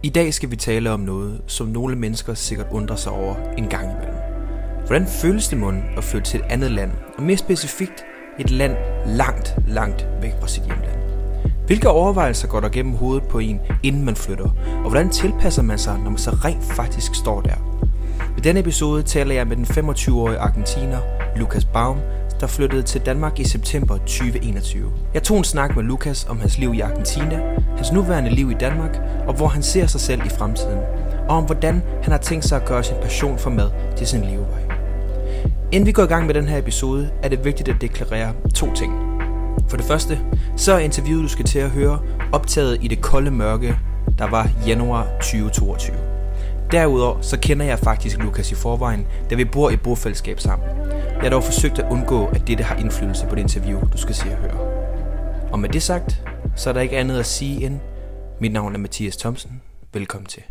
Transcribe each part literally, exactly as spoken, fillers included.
I dag skal vi tale om noget, som nogle mennesker sikkert undrer sig over en gang imellem. Hvordan føles det mon at flytte til et andet land, og mere specifikt et land langt, langt væk fra sit hjemland? Hvilke overvejelser går der gennem hovedet på en, inden man flytter, og hvordan tilpasser man sig, når man så rent faktisk står der? I denne episode taler jeg med den femogtyve-årige argentiner, Lucas Baum, der flyttede til Danmark i september tyve enogtyve. Jeg tog en snak med Lucas om hans liv i Argentina, hans nuværende liv i Danmark, og hvor han ser sig selv i fremtiden, og om hvordan han har tænkt sig at gøre sin passion for mad til sin levevej. Inden vi går i gang med den her episode, er det vigtigt at deklarere to ting. For det første, så er interviewet, du skal til at høre, optaget i det kolde mørke, der var januar tyve toogtyve. Derudover så kender jeg faktisk Lucas i forvejen, da vi bor i bofællesskab sammen. Jeg har dog forsøgt at undgå, at dette har indflydelse på det interview, du skal se og høre. Og med det sagt, så er der ikke andet at sige end, mit navn er Mathias Thomsen. Velkommen til.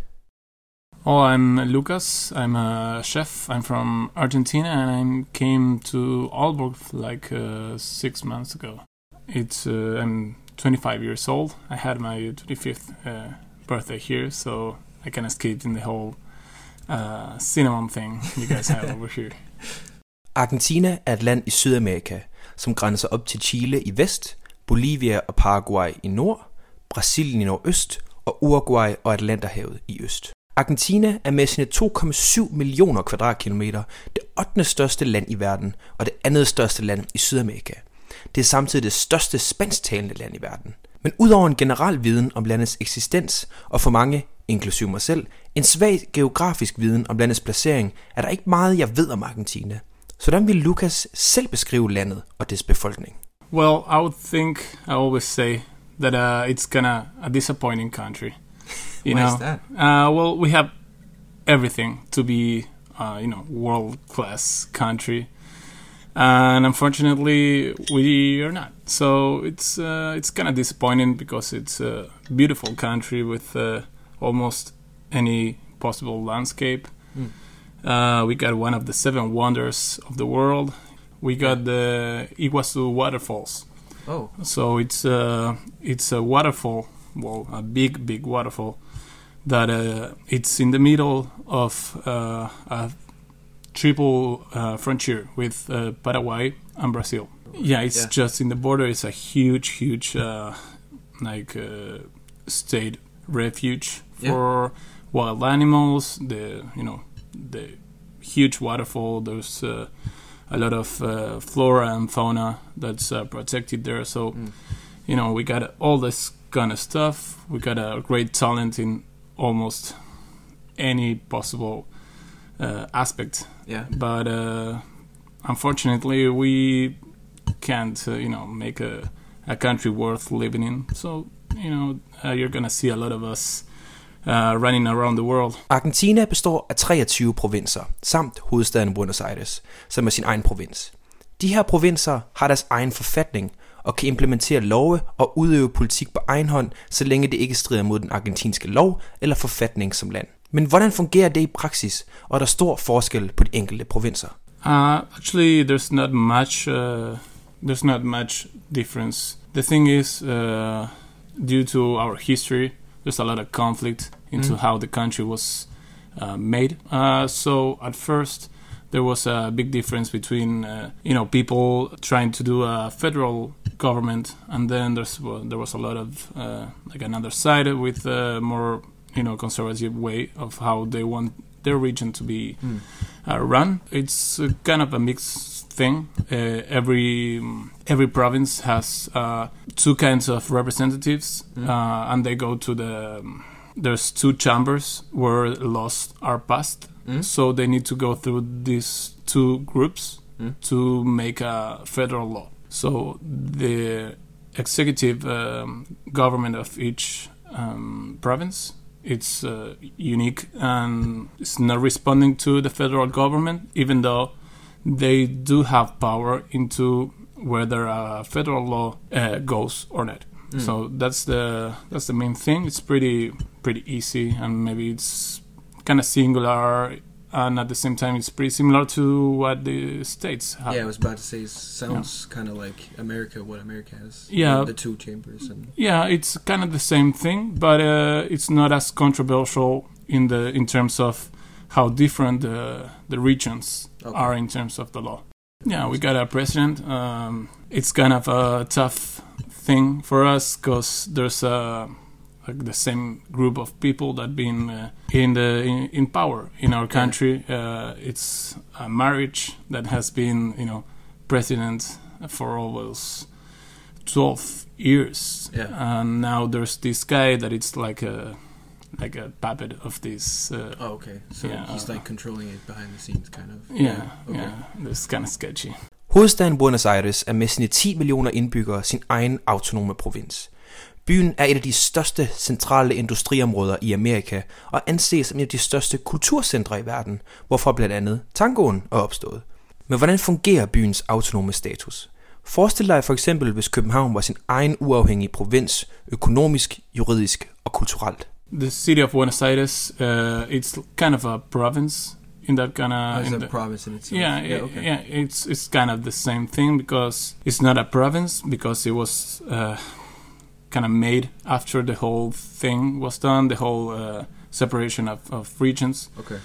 Oh, I'm Lucas. I'm a chef. I'm from Argentina, and I came to Aalborg like uh, six months ago. It's uh, I'm twenty-five years old. I had my twenty-fifth uh, birthday here, so I can escape in the whole uh, cinnamon thing you guys have over here. Argentina er et land i Sydamerika, som grænser op til Chile i vest, Bolivia og Paraguay i nord, Brasilien i nordøst og Uruguay og Atlanterhavet i øst. Argentina er med sine to komma syv millioner kvadratkilometer det ottende største land i verden og det andet største land i Sydamerika. Det er samtidig det største spansktalende land i verden. Men udover en generel viden om landets eksistens, og for mange, inklusive mig selv, en svag geografisk viden om landets placering, er der ikke meget, jeg ved om Argentina. Så hvordan vil Lucas selv beskrive landet og dets befolkning? Well, I would think, I always say, that uh, it's kinda a disappointing country. You Why know? is that? Uh, well, we have everything to be, uh, you know, world-class country. And unfortunately, we are not. So it's uh, it's kind of disappointing because it's a beautiful country with uh, almost any possible landscape. Mm. Uh, we got one of the seven wonders of the world. We got the Iguazu waterfalls. Oh. So it's uh, it's a waterfall, well, a big, big waterfall that uh, it's in the middle of uh, a triple uh, frontier with uh, Paraguay and Brazil. Yeah, it's yeah. just in the border. It's a huge, huge, uh, like uh, state refuge for yeah. wild animals. The you know the huge waterfall. There's uh, a lot of uh, flora and fauna that's uh, protected there. So mm. you know we got all this kind of stuff. We got a great talent in almost any possible uh, aspect. Yeah. But uh, unfortunately, we can't, uh, you know, make a, a country worth living in. So, you know, uh, you're gonna see a lot of us uh, running around the world. Argentina består af treogtyve provinser, samt hovedstaden Buenos Aires, som er sin egen provins. De her provinser har deres egen forfatning og kan implementere love og udøve politik på egen hånd, så længe det ikke strider mod den argentinske lov eller forfatning som land. Men hvordan fungerer det i praksis, og er der stor forskel på de enkelte provinser? Uh, actually, there's not much. Uh, there's not much difference. The thing is, uh, due to our history, there's a lot of conflict into mm. how the country was uh, made. Uh, so at first, there was a big difference between uh, you know people trying to do a federal government, and then there's well, there was a lot of uh, like another side with a more you know conservative way of how they want their region to be mm. uh, run. It's uh, kind of a mixed thing. Uh, every every province has uh, two kinds of representatives, mm. uh, and they go to the. Um, there's two chambers where laws are passed. Mm. So they need to go through these two groups mm. to make a federal law. So the executive um, government of each um, province, it's uh, unique and it's not responding to the federal government, even though they do have power into whether a federal law uh, goes or not. Mm. So that's the that's the main thing. It's pretty pretty easy, and maybe it's kind of singular and at the same time, it's pretty similar to what the States have. Yeah, I was about to say, it sounds yeah. kind of like America, what America has. Yeah. The two chambers. And yeah, it's kind of the same thing, but uh, it's not as controversial in the in terms of how different the, the regions okay. are in terms of the law. Yeah, we got a president. Um, it's kind of a tough thing for us because there's a... like the same group of people that been uh, in the in, in power in our country. Uh, it's a marriage that has been, you know, president for almost twelve years, yeah. and now there's this guy that it's like a like a puppet of this. Uh, oh, okay. So yeah, he's like controlling it behind the scenes, kind of. Yeah, yeah. Okay. yeah it's kind of sketchy. Hovedstaden Buenos Aires er med sine ti millioner indbyggere sin egen autonome provins. Byen er et af de største centrale industriområder i Amerika og anses som et af de største kulturcentre i verden, hvorfor blandt andet tangoen er opstået. Men hvordan fungerer byens autonome status? Forestil dig for eksempel, hvis København var sin egen uafhængige provins, økonomisk, juridisk og kulturelt. The city of Buenos Aires, uh, it's kind of a province in that kind of... Oh, it's in a the, province in itself. Yeah, yeah, it, okay. yeah, it's it's kind of the same thing because it's not a province because it was... Uh, kind of made after the whole thing was done, the whole uh, separation of, of regions. Okay.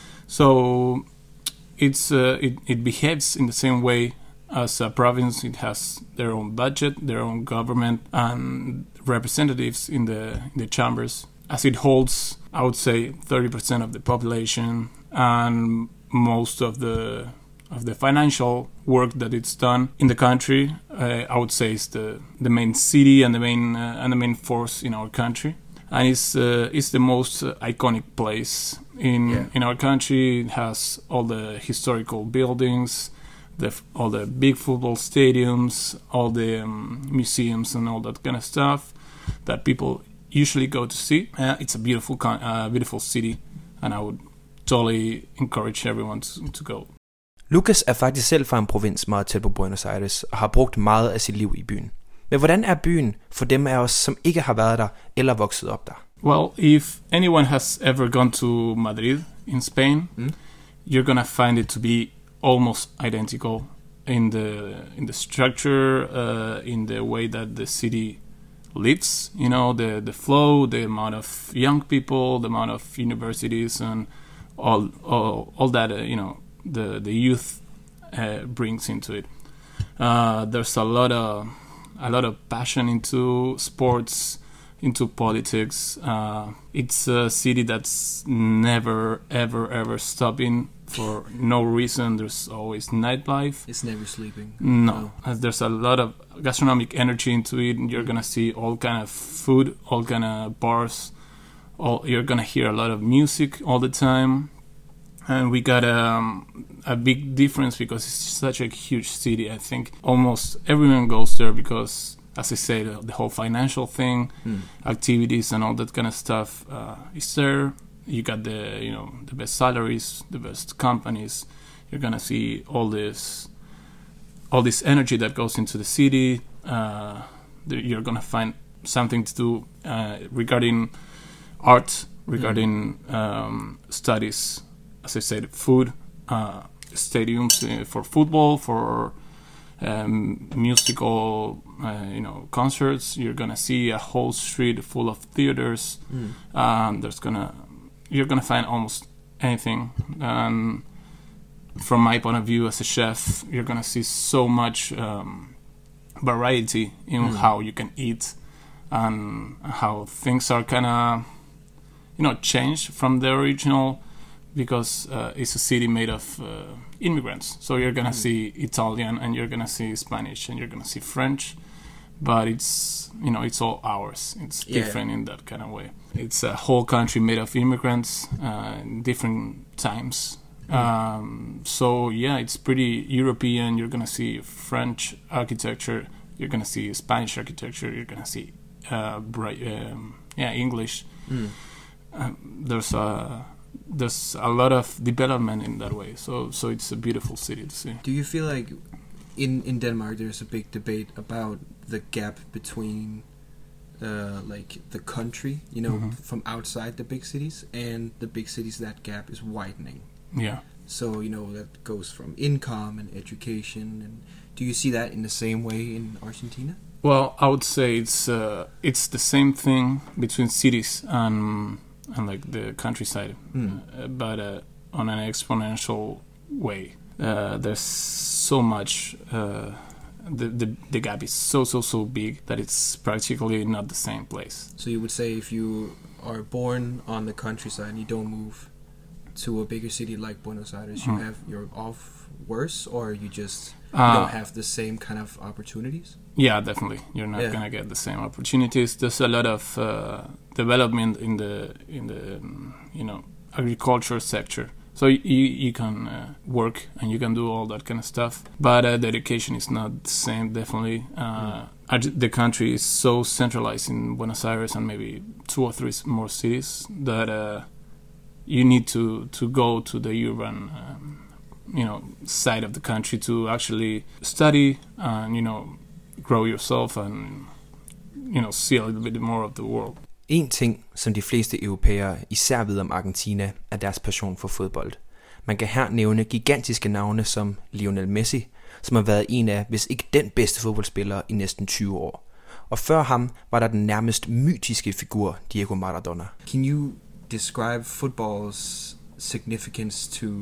So it's uh, it, it behaves in the same way as a province. It has their own budget, their own government, and representatives in the in the chambers. As it holds, I would say, thirty percent of the population and most of the of the financial work that it's done in the country, uh, I would say is the, the main city and the main uh, and the main force in our country, and it's uh, it's the most uh, iconic place in yeah. in our country. It has all the historical buildings, the all the big football stadiums, all the um, museums and all that kind of stuff that people usually go to see. Uh, it's a beautiful con- uh, beautiful city, and I would totally encourage everyone to, to go. Lucas er faktisk selv fra en provins meget tæt på Buenos Aires og har brugt meget af sit liv i byen. Men hvordan er byen for dem af os, som ikke har været der eller vokset op der? Well, if anyone has ever gone to Madrid in Spain, mm. you're gonna find it to be almost identical in the in the structure, uh, in the way that the city lives. You know, the the flow, the amount of young people, the amount of universities, and all all, all that. Uh, you know. the the youth uh, brings into it. Uh, there's a lot of a lot of passion into sports, into politics. Uh, it's a city that's never ever ever stopping for no reason. There's always nightlife. It's never sleeping. No, no. As there's a lot of gastronomic energy into it. And you're gonna see all kind of food, all kind of bars. All you're gonna hear a lot of music all the time. And we got um, a big difference because it's such a huge city. I think almost everyone goes there because, as I said, the, the whole financial thing, mm. activities and all that kind of stuff uh, is there. You got the you know the best salaries, the best companies. You're gonna see all this, all this energy that goes into the city. Uh, you're gonna find something to do uh, regarding art, regarding mm. um, studies. As I said, food, uh, stadiums uh, for football, for um, musical, uh, you know, concerts. You're gonna see a whole street full of theaters. Mm. Um, there's gonna, you're gonna find almost anything. And from my point of view as a chef, you're gonna see so much um, variety in mm. how you can eat and how things are kind of, you know, changed from the original. Because uh, it's a city made of uh, immigrants. So you're going to mm. see Italian and you're going to see Spanish and you're going to see French. But it's, you know, it's all ours. It's yeah. different in that kind of way. It's a whole country made of immigrants uh, in different times. Mm. Um, so, yeah, it's pretty European. You're going to see French architecture. You're going to see Spanish architecture. You're going to see, uh, bright, um, yeah, English. Mm. Um, there's a... There's a lot of development in that way, so so it's a beautiful city to see. Do you feel like in in Denmark there's a big debate about the gap between uh, like the country, you know, mm-hmm. from outside the big cities and the big cities? That gap is widening. Yeah. So, you know, that goes from income and education. And do you see that in the same way in Argentina? Well, I would say it's uh, it's the same thing between cities and and like the countryside, mm. uh, but uh, on an exponential way. Uh, there's so much. Uh, the, the the gap is so so so big that it's practically not the same place. So you would say if you are born on the countryside and you don't move to a bigger city like Buenos Aires, you mm. have you're off worse, or you just you uh, don't have the same kind of opportunities? Yeah, definitely. You're not yeah. gonna get the same opportunities. There's a lot of uh, development in the in the um, you know agriculture sector. So you you can uh, work and you can do all that kind of stuff, but uh, the education is not the same. Definitely, uh, mm. the country is so centralized in Buenos Aires and maybe two or three more cities that uh, you need to, to go to the urban, um, you know, side of the country to actually study and you know grow yourself and you know see a little bit more of the world. En ting, som de fleste europæere især ved om Argentina, er deres passion for fodbold. Man kan her nævne gigantiske navne som Lionel Messi, som har været en af, hvis ikke den bedste fodboldspiller i næsten tyve år. Og før ham var der den nærmest mytiske figur, Diego Maradona. Can you describe football's significance to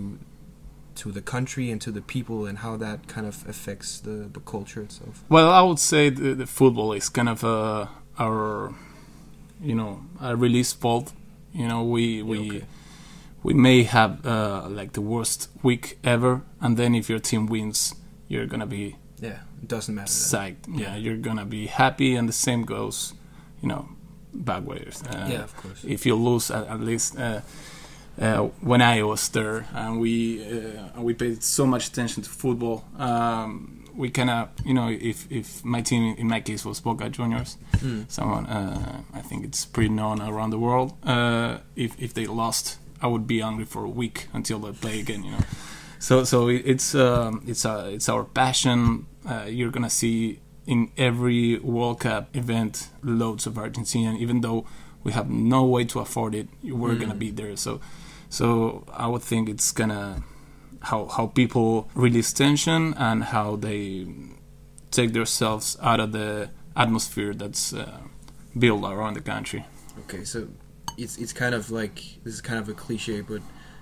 to the country and to the people, and how that kind of affects the, the culture itself? Well, I would say the, the football is kind of uh, our... you know, a release fault. You know, we we okay. we may have uh, like the worst week ever, and then if your team wins, you're gonna be yeah, it doesn't matter. Psyched. Yeah, you're gonna be happy, and the same goes, you know, back ways. Uh, yeah, of course. If you lose, at, at least uh, uh, when I was there, and we uh, we paid so much attention to football. Um, We kind of, you know, if, if my team, in my case, was Boca Juniors, mm. someone, uh, I think it's pretty known around the world. Uh, if if they lost, I would be angry for a week until they play again, you know. So so it's um, it's uh, it's our passion. Uh, you're gonna see in every World Cup event loads of Argentinian, even though we have no way to afford it. We're mm. gonna be there. So so I would think it's gonna. How how people release tension and how they take themselves out of the atmosphere that's uh, built around the country. Okay, so it's it's kind of like, this is kind of a cliche, but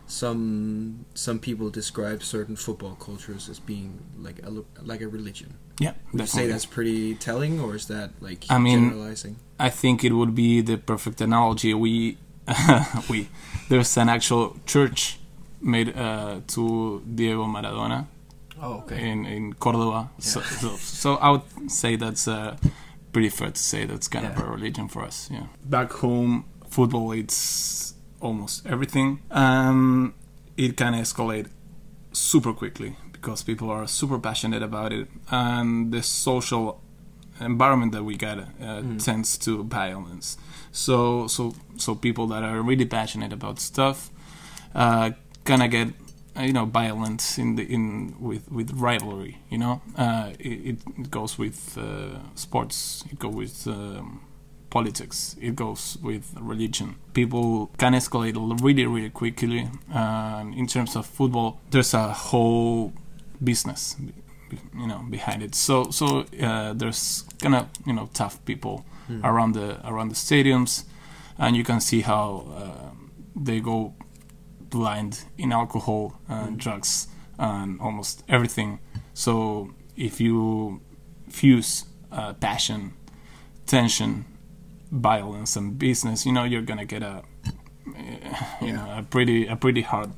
some some people describe certain football cultures as being like a like a religion. Yeah, would you say that's pretty telling, or is that like I mean, generalizing? I think it would be the perfect analogy. We we there's an actual church made uh, to Diego Maradona oh, okay. in, in Cordoba. Yeah. So, so, so I would say that's uh, pretty fair to say that's kind yeah. of a religion for us. Yeah. Back home, football, it's almost everything. Um, it can escalate super quickly because people are super passionate about it. And the social environment that we get uh, mm. tends to violence. So, so, so people that are really passionate about stuff uh, gonna get uh, you know violence in the in with with rivalry. You know, uh, it, it goes with uh, sports. It goes with um, politics. It goes with religion. People can escalate really really quickly. Uh, in terms of football, there's a whole business, you know, behind it. So so uh, there's kind of you know tough people mm. around the around the stadiums, and you can see how uh, they go blind in alcohol and mm. drugs and almost everything. So if you fuse uh, passion, tension, violence, and business, you know you're gonna get a you know a pretty a pretty hard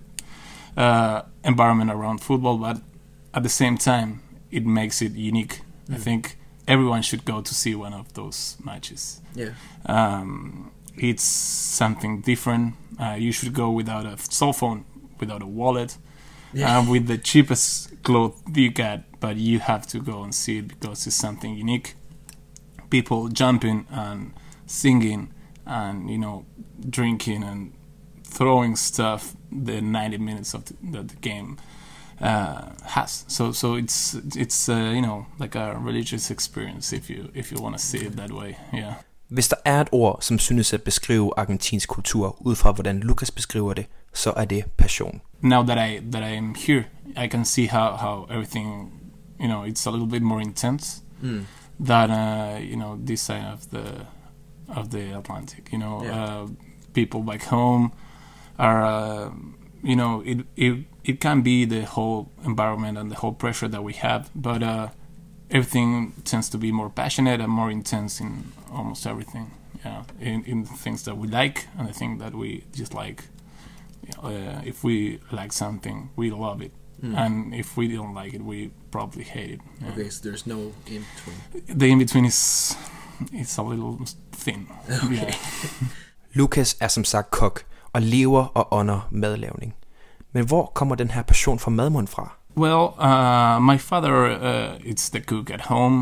uh, environment around football. But at the same time, it makes it unique. Mm. I think everyone should go to see one of those matches. Yeah. Um, It's something different. Uh, you should go without a cell phone, without a wallet, yeah. uh, with the cheapest clothes you get, but you have to go and see it because it's something unique. People jumping and singing and, you know, drinking and throwing stuff the ninety minutes of the, that the game uh, has. So so it's, it's uh, you know, like a religious experience if you if you want to see it that way, yeah. Hvis der er et ord, som synes at beskrive argentinsk kultur ud fra hvordan Lucas beskriver det, så er det passion. Now that I that I am here, I can see how, how everything, you know, it's a little bit more intense mm. than uh, you know, this side of the of the Atlantic. You know, yeah. uh, people back home are, uh, you know, it it it can be the whole environment and the whole pressure that we have, but uh, everything tends to be more passionate and more intense in almost everything. Yeah, in in the things that we like and the thing that we dislike. Uh, if we like something, we love it, mm. and if we don't like it, we probably hate it. Yeah. Okay, so there's no in between. The in between is it's a little thin. Okay. Yeah. Lucas er som sagt kok og lever og ånder madlavning. Men hvor kommer den her passion for madmund fra? Well, uh, my father uh, is the cook at home,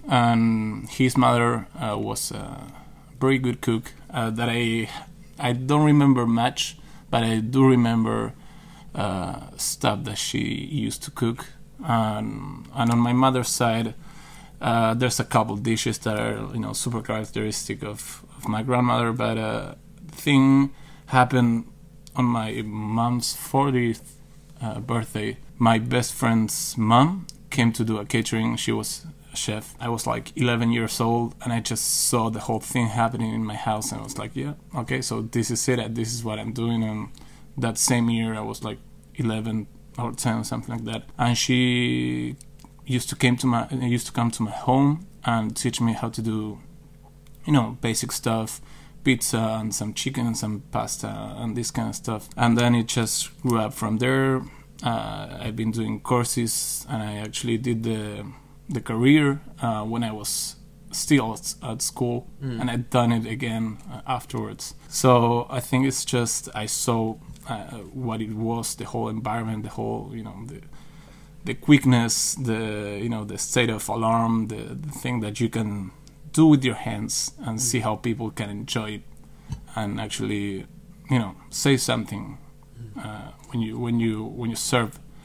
and his mother uh, was a very good cook uh, that I I don't remember much. But I do remember uh, stuff that she used to cook. Um, and on my mother's side, uh, there's a couple dishes that are, you know, super characteristic of, of my grandmother. But uh, the thing happened on my mom's fortieth uh, birthday. My best friend's mom came to do a catering. She was a chef. I was like eleven years old, and I just saw the whole thing happening in my house, and I was like, yeah, okay, so this is it. This is what I'm doing. And that same year, I was like eleven or ten or something like that. And she used to came to my used to come to my home and teach me how to do, you know, basic stuff, pizza and some chicken and some pasta and this kind of stuff. And then it just grew up from there. Uh, I've been doing courses, and I actually did the the career uh, when I was still at, at school, mm. and I'd done it again uh, afterwards. So I think it's just I saw uh, what it was, the whole environment, the whole, you know, the the quickness, the, you know, the state of alarm, the, the thing that you can do with your hands and mm. see how people can enjoy it and actually, you know, say something uh, when you when you when you serve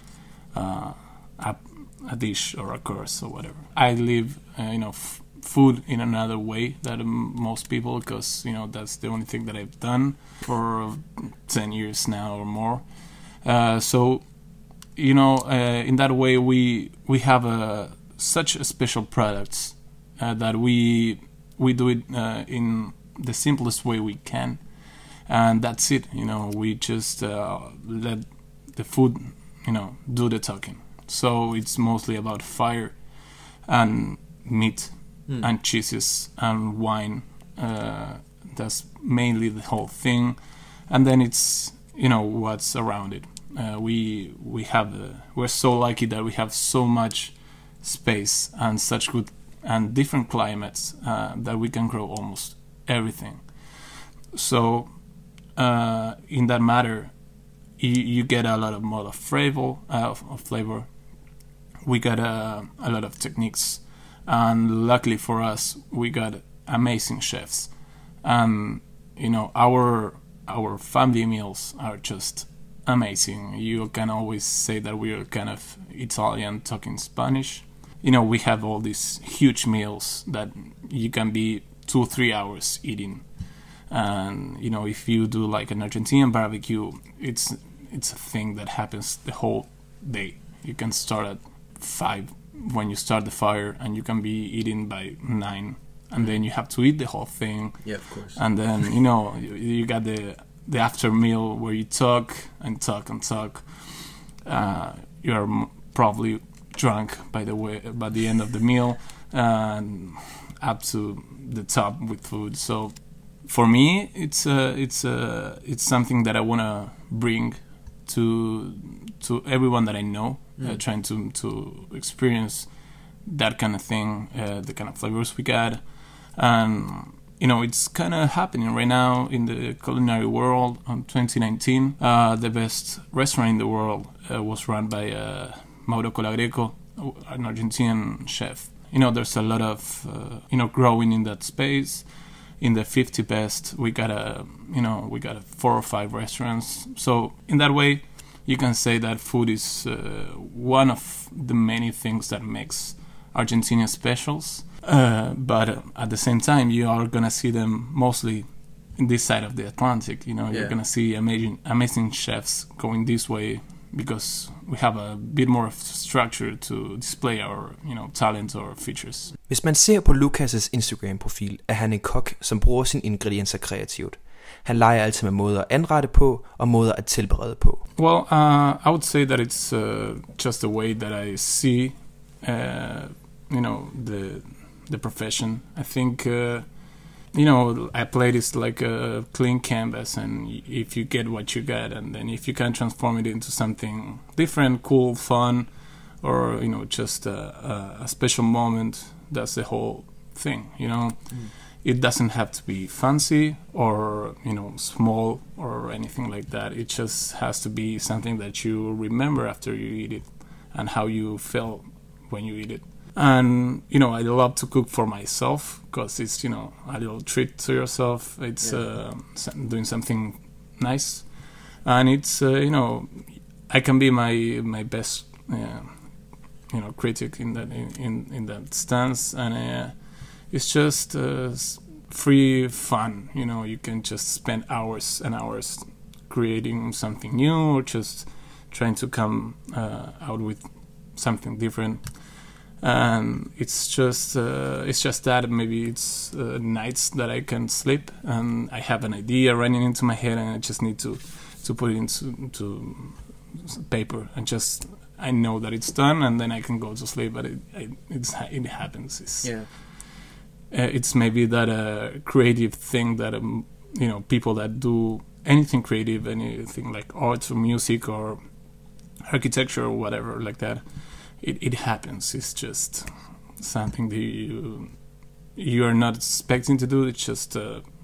uh, a a dish or a course or whatever. I live, uh, you know, f- food in another way than most people, because, you know, that's the only thing that I've done for ten years now or more. Uh, so, you know, uh, in that way, we we have a, such a special products uh, that we we do it uh, in the simplest way we can, and that's it. You know, we just uh, let the food, you know, do the talking. So it's mostly about fire and meat mm. and cheeses and wine. Uh, that's mainly the whole thing. And then it's, you know, what's around it. Uh, we we have uh, we're so lucky that we have so much space and such good and different climates uh, that we can grow almost everything. So uh, in that matter, you, you get a lot of more of flavor. Uh, of, of flavor. We got uh, a lot of techniques, and luckily for us, we got amazing chefs. And you know, our our family meals are just amazing. You can always say that we are kind of Italian talking Spanish. You know, we have all these huge meals that you can be two or three hours eating. And you know, if you do like an Argentinian barbecue, it's it's a thing that happens the whole day. You can start at five when you start the fire, and you can be eating by nine, and mm. then you have to eat the whole thing. Yeah, of course. And then, you know, you, you got the the after meal where you talk and talk and talk. Uh, you are m- probably drunk by the way by the end of the meal, and up to the top with food. So for me, it's uh, it's uh, it's something that I wanna bring to to everyone that I know. Mm. Uh, trying to to experience that kind of thing, uh, the kind of flavors we got, and you know, it's kind of happening right now in the culinary world. In twenty nineteen, uh, the best restaurant in the world uh, was run by uh, Mauro Colagreco, an Argentinian chef. You know, there's a lot of uh, you know, growing in that space. In the fifty best, we got a you know we got a four or five restaurants. So in that way, you can say that food is uh, one of the many things that makes Argentina specials. Uh, but uh, at the same time, you are gonna see them mostly in this side of the Atlantic. You know, you're Yeah. gonna see amazing, amazing chefs going this way because we have a bit more of structure to display our, you know, talent or features. Hvis man ser på Lucas' Instagram-profil, er han en kok, som bruger sine ingredienser kreativt. Han leger altid med måder at anrette på og måder at tilberede på. Well, uh, I would say that it's uh, just the way that I see, uh, you know, the the profession. I think, uh, you know, I play this like a clean canvas, and if you get what you get, and then if you can transform it into something different, cool, fun, or, you know, just a, a, a special moment, that's the whole thing, you know. Mm. It doesn't have to be fancy or, you know, small or anything like that. It just has to be something that you remember after you eat it and how you felt when you eat it. And, you know, I love to cook for myself because it's, you know, a little treat to yourself. It's yeah. uh, doing something nice. And it's, uh, you know, I can be my my best, uh, you know, critic in that in, in, in that stance. And uh, it's just uh, free fun. You know, you can just spend hours and hours creating something new or just trying to come uh, out with something different. And it's just uh, it's just that maybe it's uh, nights that I can sleep and I have an idea running into my head and I just need to to put it into to paper and just I know that it's done and then I can go to sleep. But it it, it's, it happens. It's, yeah. uh, it's maybe that a uh, creative thing that um, you know, people that do anything creative, anything like art or music or architecture or whatever like that. It, it happens. It's just something that you you are not expecting to do. It just uh,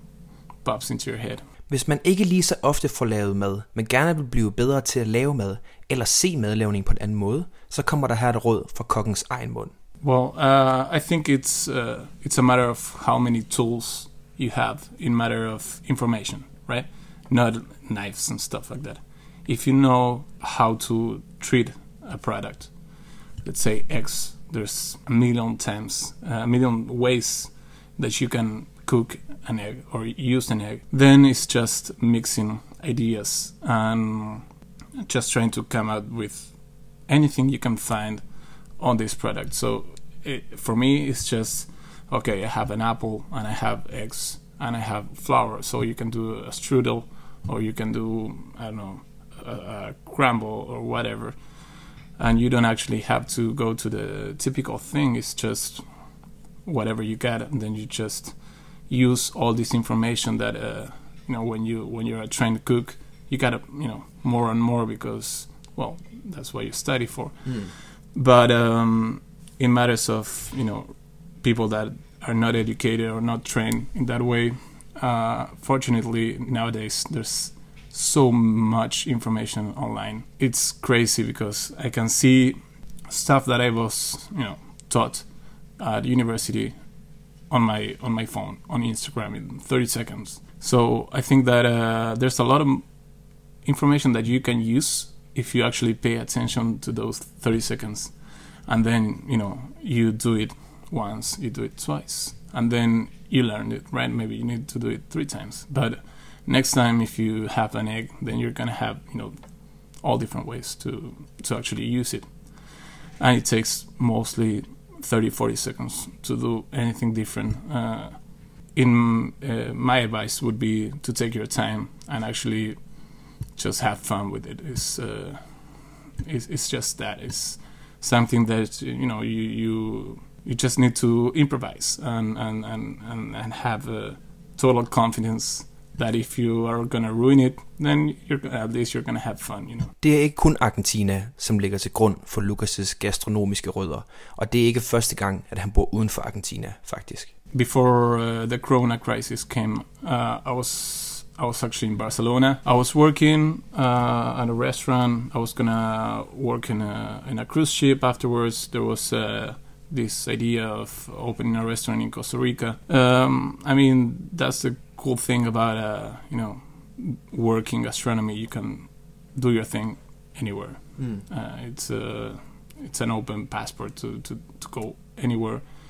pops into your head. Hvis man ikke lige så ofte får lavet mad, men gerne vil blive bedre til at lave mad, eller se madlavning på en anden måde, så kommer der her et råd fra kokkens egen mund. Well, uh, I think it's uh, it's a matter of how many tools you have in matter of information, right? Not knives and stuff like that. If you know how to treat a product, let's say eggs, there's a million times, uh, a million ways that you can cook an egg or use an egg. Then it's just mixing ideas and just trying to come out with anything you can find on this product. So it, for me, it's just, okay, I have an apple and I have eggs and I have flour. So you can do a strudel or you can do, I don't know, a, a crumble or whatever. And you don't actually have to go to the typical thing. It's just whatever you get, and then you just use all this information that uh, you know, when you when you're trying to cook, you gotta, you know, more and more because, well, that's what you study for. Mm. But um, in matters of, you know, people that are not educated or not trained in that way, uh, fortunately nowadays there's so much information online. It's crazy because I can see stuff that I was, you know, taught at university on my on my phone, on Instagram in thirty seconds. So I think that uh, there's a lot of information that you can use if you actually pay attention to those thirty seconds. And then, you know, you do it once, you do it twice, and then you learn it, right? Maybe you need to do it three times. But next time, if you have an egg, then you're gonna have, you know, all different ways to to actually use it. And it takes mostly thirty, forty seconds to do anything different. Uh, in uh, my advice would be to take your time and actually just have fun with it. It's uh, it's, it's just that. It's something that, you know, you you you just need to improvise and and and and, and have a total confidence that if you are gonna ruin it, then you're at least you're gonna have fun, you know. Det er ikke kun Argentina, som ligger til grund for Lucas' gastronomiske rødder, og det er ikke første gang, at han bor uden for Argentina, faktisk. Before uh, the Corona crisis came, uh, I was I was actually in Barcelona. I was working uh, at a restaurant. I was gonna work in a in a cruise ship afterwards. There was uh, this idea of opening a restaurant in Costa Rica. Um, I mean, that's the cool thing about uh, you know, working gastronomy. You can do your thing anywhere. Mm. Uh, it's a it's an open passport to, to, to go anywhere.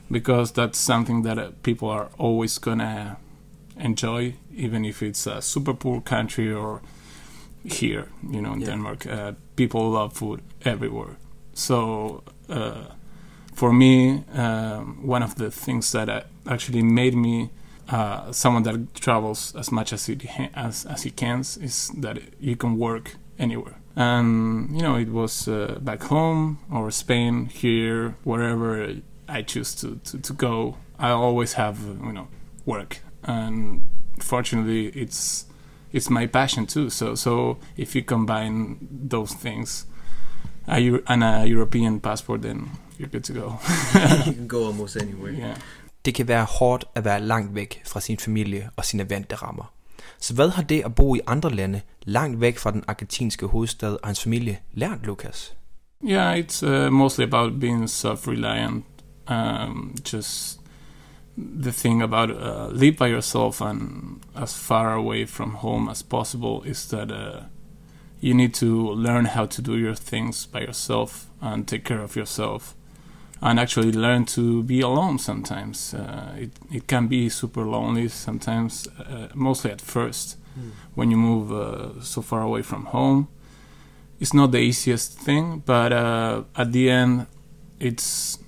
because that's something that uh, people are always gonna enjoy, even if it's a super poor country or here, you know, in yeah. Denmark. Uh, people love food everywhere. So uh, for me, um, one of the things that uh, actually made me uh, someone that travels as much as he ha- as as he can is that you can work anywhere. And you know, it was uh, back home or Spain, here, wherever I choose to, to, to go. I always have uh, you know work, and fortunately, it's it's my passion too. So so if you combine those things, a Euro- and a European passport, then you're good to go. You can go almost anywhere. Yeah. Det kan være hårdt at være langt væk fra sin familie og sine vante rammer. Så hvad har det at bo i andre lande, langt væk fra den argentinske hovedstad og hans familie, lært Lucas? Yeah, it's uh, mostly about being self-reliant. Um, just the thing about uh, live by yourself and as far away from home as possible is that uh, you need to learn how to do your things by yourself and take care of yourself. And actually learn to be alone sometimes. Uh, it it can be super lonely sometimes, uh, mostly at first, mm. when you move uh, so far away from home. It's not the easiest thing, but uh, at the end, it's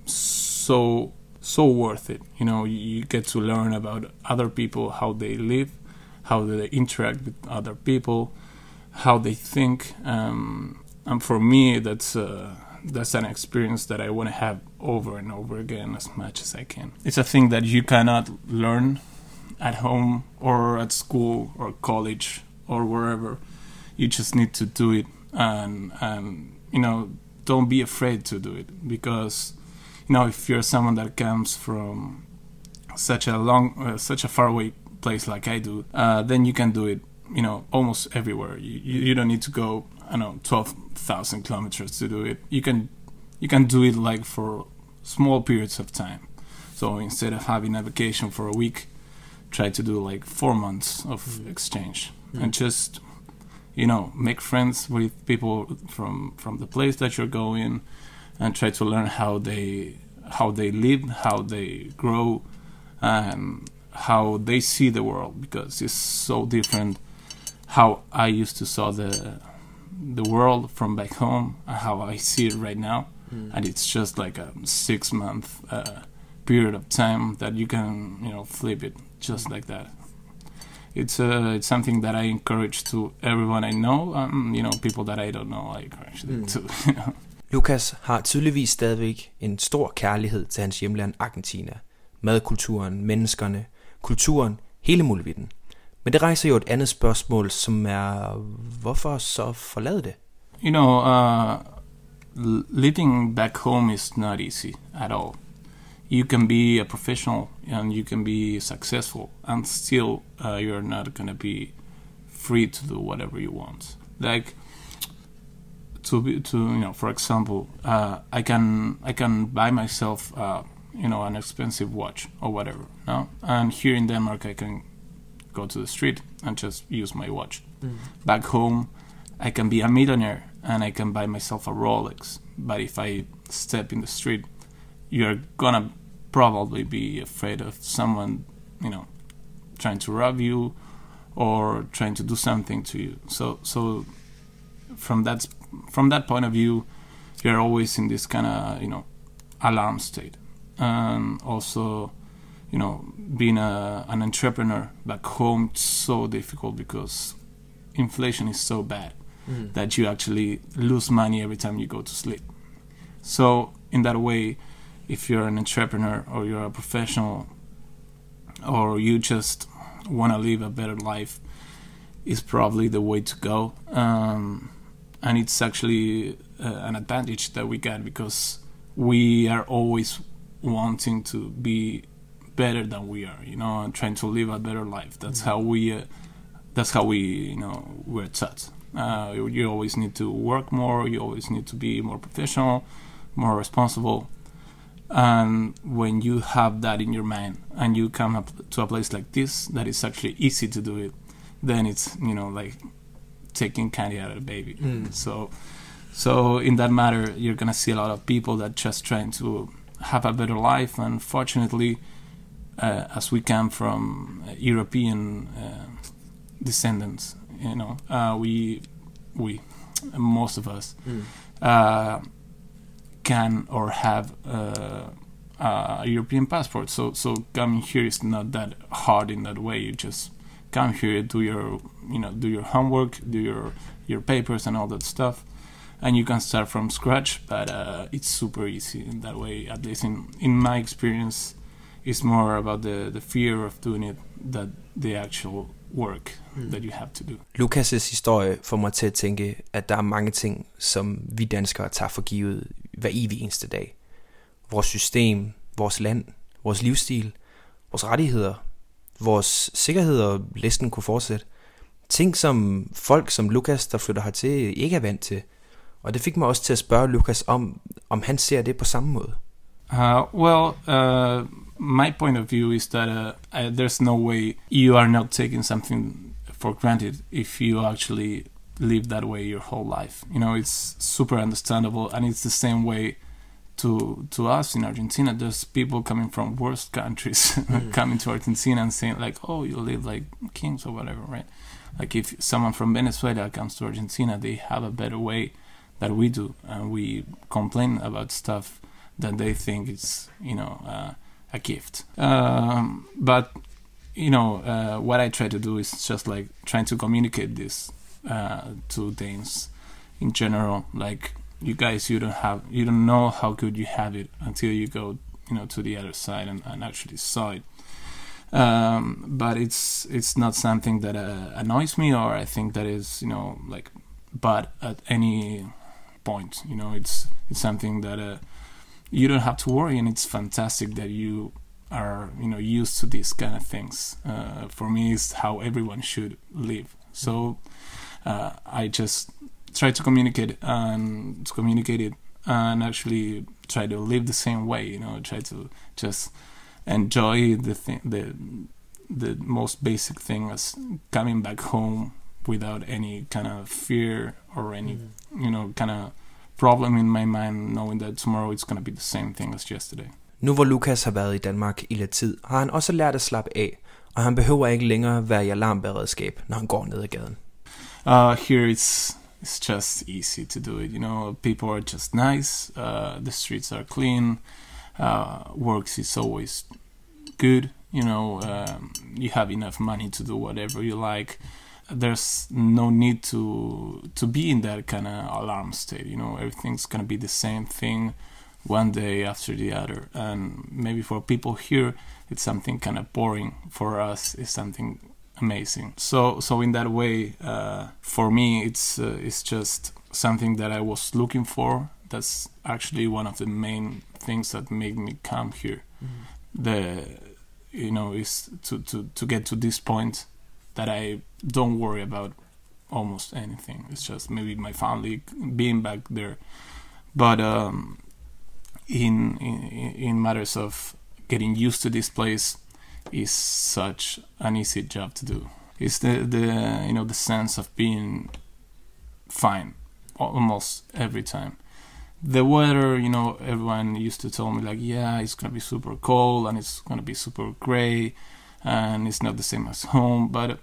so so worth it. You know, you, you get to learn about other people, how they live, how they interact with other people, how they think. Um, and for me, that's... Uh, That's an experience that I want to have over and over again as much as I can. It's a thing that you cannot learn at home or at school or college or wherever. You just need to do it, and and you know, don't be afraid to do it, because you know, if you're someone that comes from such a long, uh, such a far away place like I do, uh, then you can do it. You know, almost everywhere. You you, you don't need to go, I don't know, twelve thousand kilometers to do it. You can you can do it like for small periods of time. So instead of having a vacation for a week, try to do like four months of mm. exchange mm. and just, you know, make friends with people from from the place that you're going, and try to learn how they how they live, how they grow, and how they see the world, because it's so different how I used to saw the the world from back home and how I see it right now. Mm. And it's just like a six month uh, period of time that you can, you know, flip it just like that. It's uh, it's something that I encourage to everyone I know, um, you know, people that I don't know, I encourage them mm. to. You know. Lucas har tydeligvis stadigvæk en stor kærlighed til hans hjemland Argentina. Madkulturen, menneskerne, kulturen, hele muligheden. Men det rejser jo et andet spørgsmål, som er, hvorfor så forlade det? You know, uh, living back home is not easy at all. You can be a professional and you can be successful, and still uh, you're not going to be free to do whatever you want. Like, to be, to you know, for example, uh, I can I can buy myself, uh, you know, an expensive watch or whatever, no? And here in Denmark, I can go to the street and just use my watch. Mm. Back home, I can be a millionaire and I can buy myself a Rolex. But if I step in the street, you're gonna probably be afraid of someone, you know, trying to rob you or trying to do something to you. So, so from that from that point of view, you're always in this kind of, you know, alarm state. And also, you know, being a, an entrepreneur back home, it's so difficult because inflation is so bad mm. that you actually lose money every time you go to sleep. So in that way, if you're an entrepreneur or you're a professional or you just want to live a better life, is probably the way to go. Um, and it's actually uh, an advantage that we get, because we are always wanting to be better than we are, you know, and trying to live a better life. That's mm-hmm. how we, uh, that's how we, you know, we're taught. Uh, you, you always need to work more. You always need to be more professional, more responsible. And when you have that in your mind and you come up to a place like this, that is actually easy to do it, then it's, you know, like taking candy out of a baby. Mm. So, so in that matter, you're gonna see a lot of people that just trying to have a better life. And fortunately, uh, as we come from European uh, descendants, you know, uh, we we most of us mm. uh, can or have uh, a European passport. So so coming here is not that hard in that way. You just come here, do your you know do your homework, do your your papers and all that stuff, and you can start from scratch. But uh, it's super easy in that way. At least in in my experience, it's more about the the fear of doing it than the actual work mm. that you have to do. Lukas' historie får mig til at tænke, at der er mange ting, som vi danskere tager for givet hver evig eneste dag. Vores system, vores land, vores livsstil, vores rettigheder, vores sikkerhed og listen kunne fortsætte. Ting, som folk som Lukas, der flytter hertil, ikke er vant til. Og det fik mig også til at spørge Lukas om, om han ser det på samme måde. Uh, well, uh, my point of view is that uh, uh, there's no way you are not taking something for granted if you actually live that way your whole life. You know, it's super understandable, and it's the same way to to us in Argentina. There's people coming from worst countries mm. coming to Argentina and saying like, oh, you live like kings or whatever, right? Like if someone from Venezuela comes to Argentina, they have a better way than we do, and we complain about stuff that they think it's, you know, uh, a gift. Um, but, you know, uh, what I try to do is just like trying to communicate this uh, to Danes in general. Like, you guys, you don't have, you don't know how good you have it until you go, you know, to the other side and, and actually saw it. Um, but it's it's not something that uh, annoys me, or I think that is, you know, like bad at any point. You know, it's it's something that uh, you don't have to worry, and it's fantastic that you are, you know, used to these kind of things. Uh, for me, it's how everyone should live. So uh, I just try to communicate and to communicate it, and actually try to live the same way. You know, try to just enjoy the thing, the the most basic thing as coming back home without any kind of fear or any, mm. you know, kind of problem in my mind, knowing that tomorrow it's going to be the same thing as yesterday. Nu hvor Lukas har været i Danmark i lidt tid, har han også lært at slappe af, og han behøver ikke længere være i alarmberedskab, når han går ned ad gaden. Uh, here it's it's just easy to do it. You know, people are just nice. Uh, the streets are clean. Uh, works is always good. You know, um, you have enough money to do whatever you like. There's no need to to be in that kind of alarm state. You know, everything's gonna be the same thing one day after the other. And maybe for people here, it's something kind of boring. For us, it's something amazing. So, so in that way, uh, for me, it's uh, it's just something that I was looking for. That's actually one of the main things that made me come here. Mm. The, you know, is to, to, to get to this point that I don't worry about almost anything. It's just maybe my family being back there. But um, in, in in matters of getting used to this place is such an easy job to do. It's the, the you know the sense of being fine almost every time. The weather, you know, everyone used to tell me like, yeah, it's gonna be super cold and it's gonna be super gray and it's not the same as home. But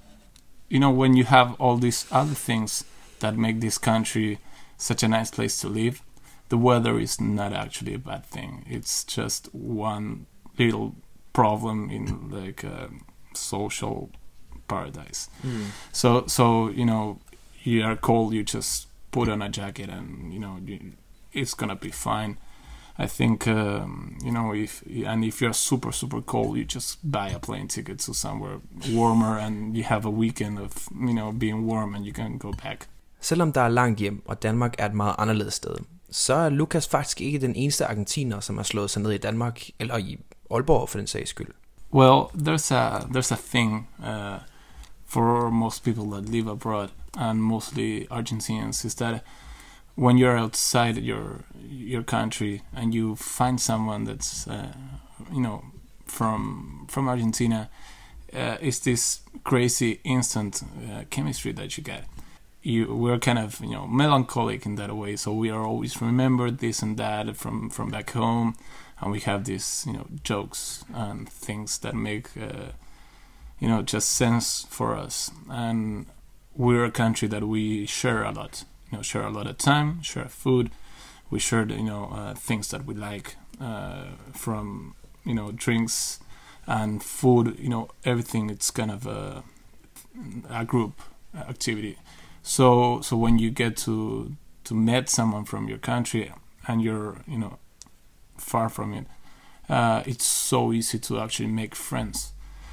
you know, when you have all these other things that make this country such a nice place to live, the weather is not actually a bad thing. It's just one little problem in like a social paradise. Mm. So, so you know, you are cold, you just put on a jacket and, you know, you, it's gonna be fine. I think, um, you know, if and if you're super, super cold, you just buy a plane ticket to somewhere warmer and you have a weekend of, you know, being warm and you can go back. Selvom der er langt hjem, og Danmark er et meget anderledes sted, så er Lukas faktisk ikke den eneste argentiner, som har slået sig ned i Danmark, eller i Aalborg for den sags skyld. Well, there's a there's a thing uh, for most people that live abroad, and mostly Argentinians, is that when you're outside your your country and you find someone that's uh, you know from from Argentina, uh, it's this crazy instant uh, chemistry that you get. You we're kind of, you know, melancholic in that way, so we are always remembered this and that from from back home, and we have these, you know, jokes and things that make, uh, you know, just sense for us. And we're a country that we share a lot, you know, share a lot of time, share food, we share, you know, uh, things that we like, uh, from, you know, drinks and food, you know, everything. It's kind of a, a group activity. So, so when you get to to meet someone from your country and you're, you know, far from it, uh, it's so easy to actually make friends.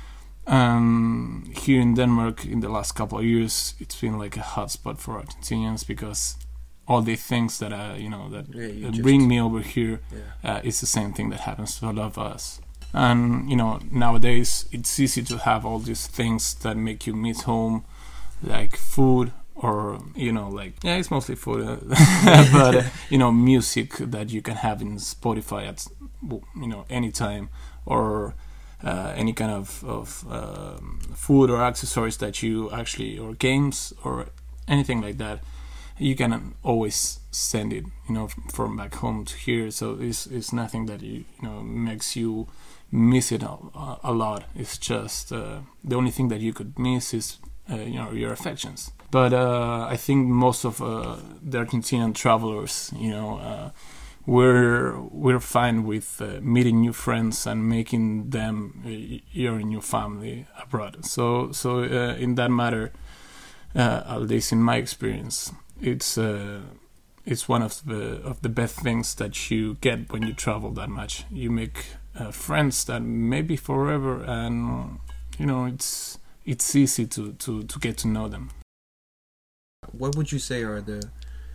Um, here in Denmark, in the last couple of years, it's been like a hotspot for Argentinians because all the things that uh, you know that yeah, uh, bring me over here, yeah. uh, is the same thing that happens to a lot of us. And you know, nowadays it's easy to have all these things that make you miss home, like food. Or, you know, like, yeah, it's mostly food, uh, but, uh, you know, music that you can have in Spotify at, you know, any time, or uh, any kind of, of um, food or accessories that you actually, or games, or anything like that, you can always send it, you know, from back home to here. So it's, it's nothing that, you, you know, makes you miss it a, a lot. It's just, uh, the only thing that you could miss is, uh, you know, your affections. But uh, I think most of uh, the Argentinian travelers, you know, uh, we're we're fine with uh, meeting new friends and making them uh, your new family abroad. So so uh, in that matter, uh, at least in my experience, it's uh, it's one of the of the best things that you get when you travel that much. You make uh, friends that maybe forever, and you know, it's it's easy to, to, to get to know them. What would you say are the,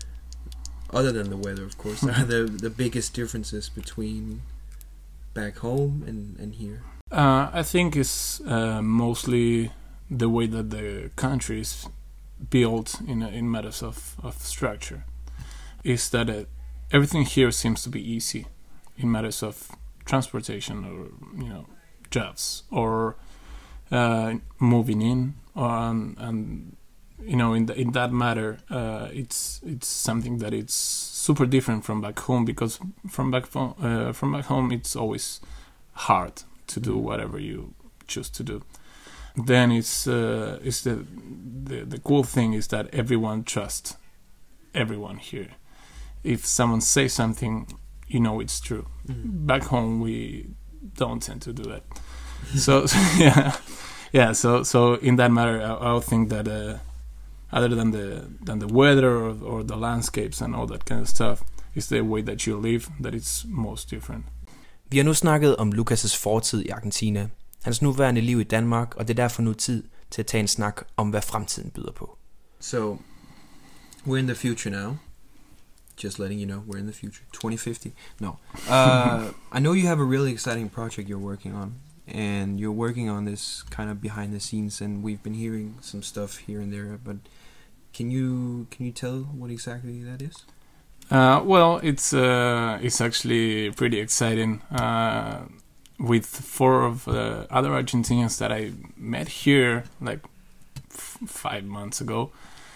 other than the weather, of course, are the the biggest differences between back home and, and here? Uh, I think it's uh, mostly the way that the country is built in in matters of, of structure. Is that uh, everything here seems to be easy in matters of transportation, or you know, jobs, or uh, moving in, or, um, and you know, in the, in that matter, uh, it's it's something that it's super different from back home, because from back home, uh, from back home, it's always hard to do whatever you choose to do. Then it's uh, it's the, the the cool thing is that everyone trusts everyone here. If someone says something, you know it's true. Mm-hmm. Back home, we don't tend to do that. so, so yeah, yeah. So so in that matter, I, I think that. Uh, Other than the than the weather or, or the landscapes and all that kind of stuff, is the way that you live that it's most different. Vi har nu snakket om Lucas' fortid i Argentina, hans nuværende liv i Danmark, og det er derfor nu tid til at tage en snak om, hvad fremtiden byder på. So, we're in the future now. Just letting you know, we're in the future. twenty fifty. No. Uh, I know you have a really exciting project you're working on. And you're working on this kind of behind the scenes, and we've been hearing some stuff here and there, but can you can you tell what exactly that is? Uh, well, it's uh, it's actually pretty exciting. Uh, with four of the other Argentinians that I met here, like f- five months ago,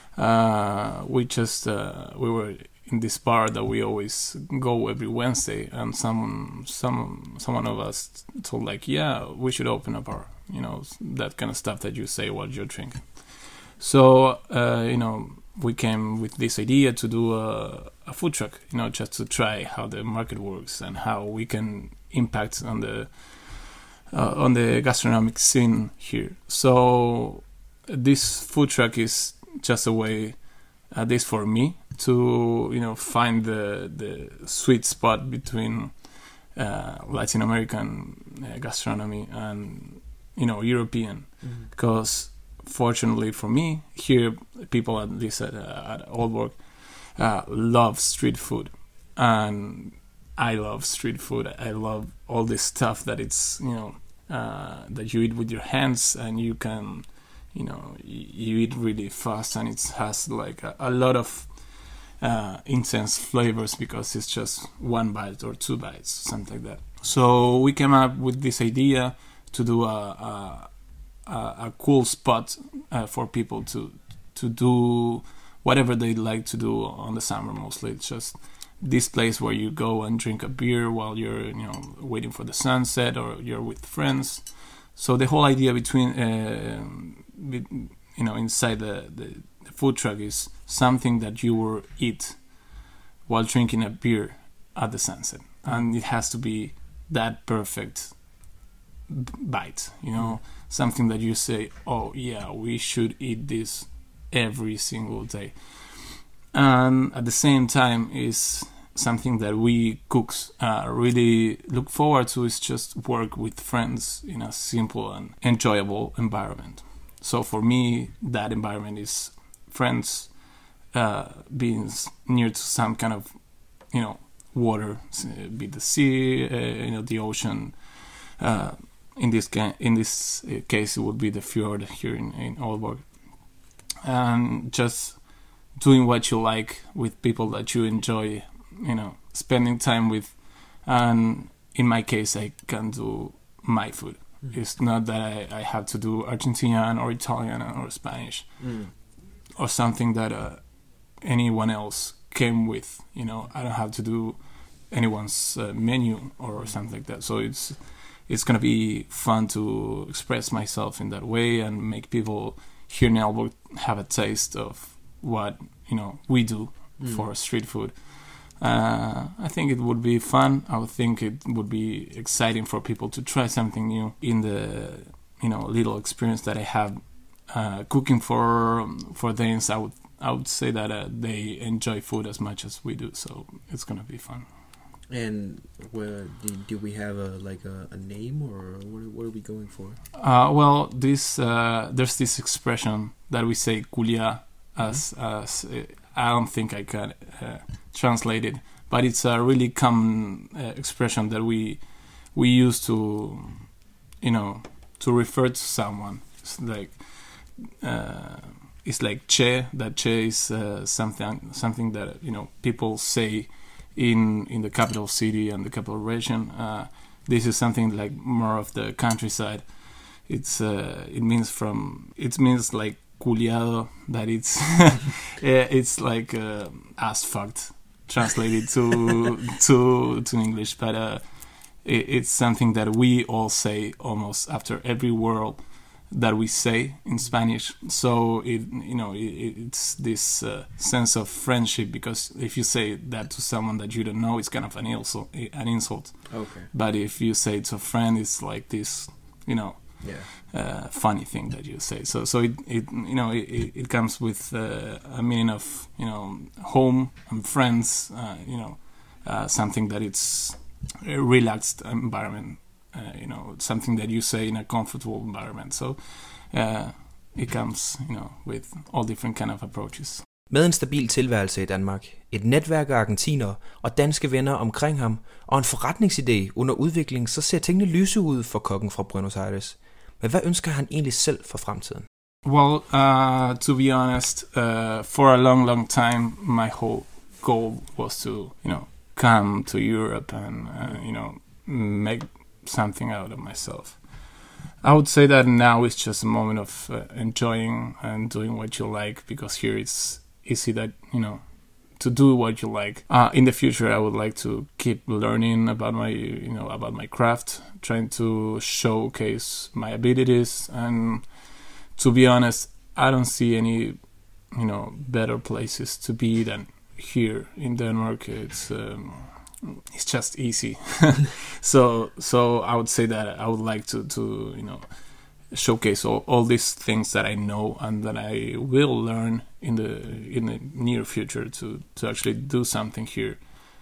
uh, we just uh, we were in this bar that we always go every Wednesday, and some some someone of us told like, yeah, we should open a bar, you know, that kind of stuff that you say while you're drinking. So uh, you know, we came with this idea to do a, a food truck, you know, just to try how the market works and how we can impact on the uh, on the gastronomic scene here. So this food truck is just a way, at least for me, to you know find the the sweet spot between uh, Latin American uh, gastronomy and you know European, mm-hmm. because fortunately for me here, people at least at, uh, at Aalborg uh, love street food, and I love street food. I love all this stuff that it's you know uh, that you eat with your hands, and you can you know you eat really fast, and it has like a, a lot of uh, intense flavors because it's just one bite or two bites, something like that. So we came up with this idea to do a a, a, a cool spot uh, for people to to do whatever they like to do on the summer. Mostly it's just this place where you go and drink a beer while you're, you know, waiting for the sunset, or you're with friends. So the whole idea between, uh, with, you know, inside the, the, the food truck is something that you will eat while drinking a beer at the sunset, and it has to be that perfect b- bite, you know, mm. something that you say, oh yeah, we should eat this every single day. And at the same time is something that we cooks uh, really look forward to, is just work with friends in a simple and enjoyable environment. So for me, that environment is friends, uh, being near to some kind of, you know, water, be the sea, uh, you know, the ocean. Uh, in this ca- in this case, it would be the fjord here in, in Aalborg. And just doing what you like with people that you enjoy, you know, spending time with. And in my case, I can do my food. Mm. It's not that I, I have to do Argentinian or Italian or Spanish mm. or something that uh, anyone else came with. You know, I don't have to do anyone's uh, menu or something like that. So it's it's gonna be fun to express myself in that way and make people here in Aalborg have a taste of what, you know, we do mm. for street food. Uh, I think it would be fun. I would think it would be exciting for people to try something new in the, you know, little experience that I have uh, cooking for for Danes. I would I would say that uh, they enjoy food as much as we do, so it's gonna be fun. And where do, do we have a like a, a name, or what, what are we going for? Uh, well, this uh, there's this expression that we say "culia" as mm-hmm. as uh, I don't think I can uh, translate it, but it's a really common uh, expression that we we use to, you know, to refer to someone. It's like uh, it's like "che." That "che" is uh, something something that, you know, people say in in the capital city and the capital region. Uh, this is something like more of the countryside. It's uh, it means from it means like culiado, that it's it's like uh, ass fucked translated to to to English, but uh, it, it's something that we all say almost after every word that we say in Spanish. So it, you know, it, it's this uh, sense of friendship, because if you say that to someone that you don't know, it's kind of an insult. An insult. Okay. But if you say it to a friend, it's like this, you know, yeah. uh, funny thing that you say. So so it, it you know it, it comes with uh, a meaning of, you know, home and friends. Uh, you know, uh, something that it's a relaxed environment. Uh, you know, something that you say in a comfortable environment. So uh, it comes, you know, with all different kind of approaches. Med en stabil tilværelse i Danmark, et netværk af argentinere og danske venner omkring ham, og en forretningsidé under udvikling, så ser tingene lyse ud for kokken fra Buenos Aires. Men hvad ønsker han egentlig selv for fremtiden? Well, uh, to be honest, uh, for a long, long time, my whole goal was to, you know, come to Europe and, uh, you know, make something out of myself. I would say that now it's just a moment of uh, enjoying and doing what you like, because here it's easy that, you know, to do what you like. Uh, in the future, I would like to keep learning about my, you know, about my craft, trying to showcase my abilities. And to be honest, I don't see any, you know, better places to be than here in Denmark. It's um, it's just easy. so so I would say that I would like to, to you know, showcase all, all these things that I know and that I will learn in the in the near future to, to actually do something here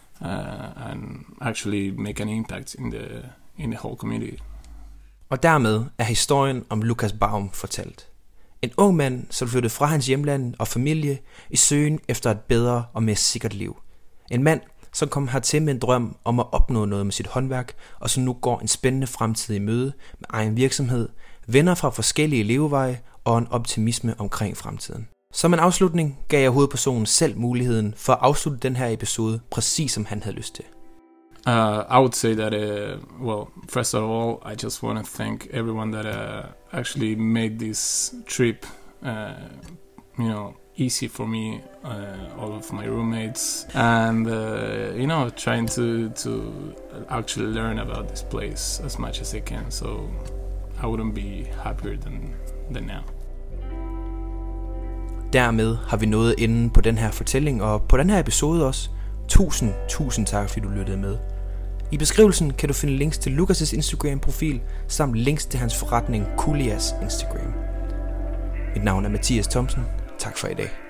uh, and actually make an impact in the in the whole community. Og dermed er historien om Lukas Baum fortalt. En ung mand, som flyttede fra hans hjemland og familie i søgen efter et bedre og mere sikkert liv. En mand, som kom hertil med en drøm om at opnå noget med sit håndværk, og som nu går en spændende fremtid i møde med egen virksomhed, venner fra forskellige leveveje og en optimisme omkring fremtiden. Som en afslutning gav jeg hovedpersonen selv muligheden for at afslutte den her episode, præcis som han havde lyst til. Uh, I would say that, uh, well, first of all, I just want to thank everyone that uh, actually made this trip, uh, you know, easy for me, uh, all of my roommates, and uh, you know, trying to to actually learn about this place as much as I can. So I wouldn't be happier than than now. Dermed har vi nået enden på den her fortælling, og på den her episode også. Tusind, tusind tak, fordi du lyttede med. I beskrivelsen kan du finde links til Lukas' Instagram-profil, samt links til hans forretning Kulias Instagram. Mit navn er Mathias Thomsen. Tak for i dag.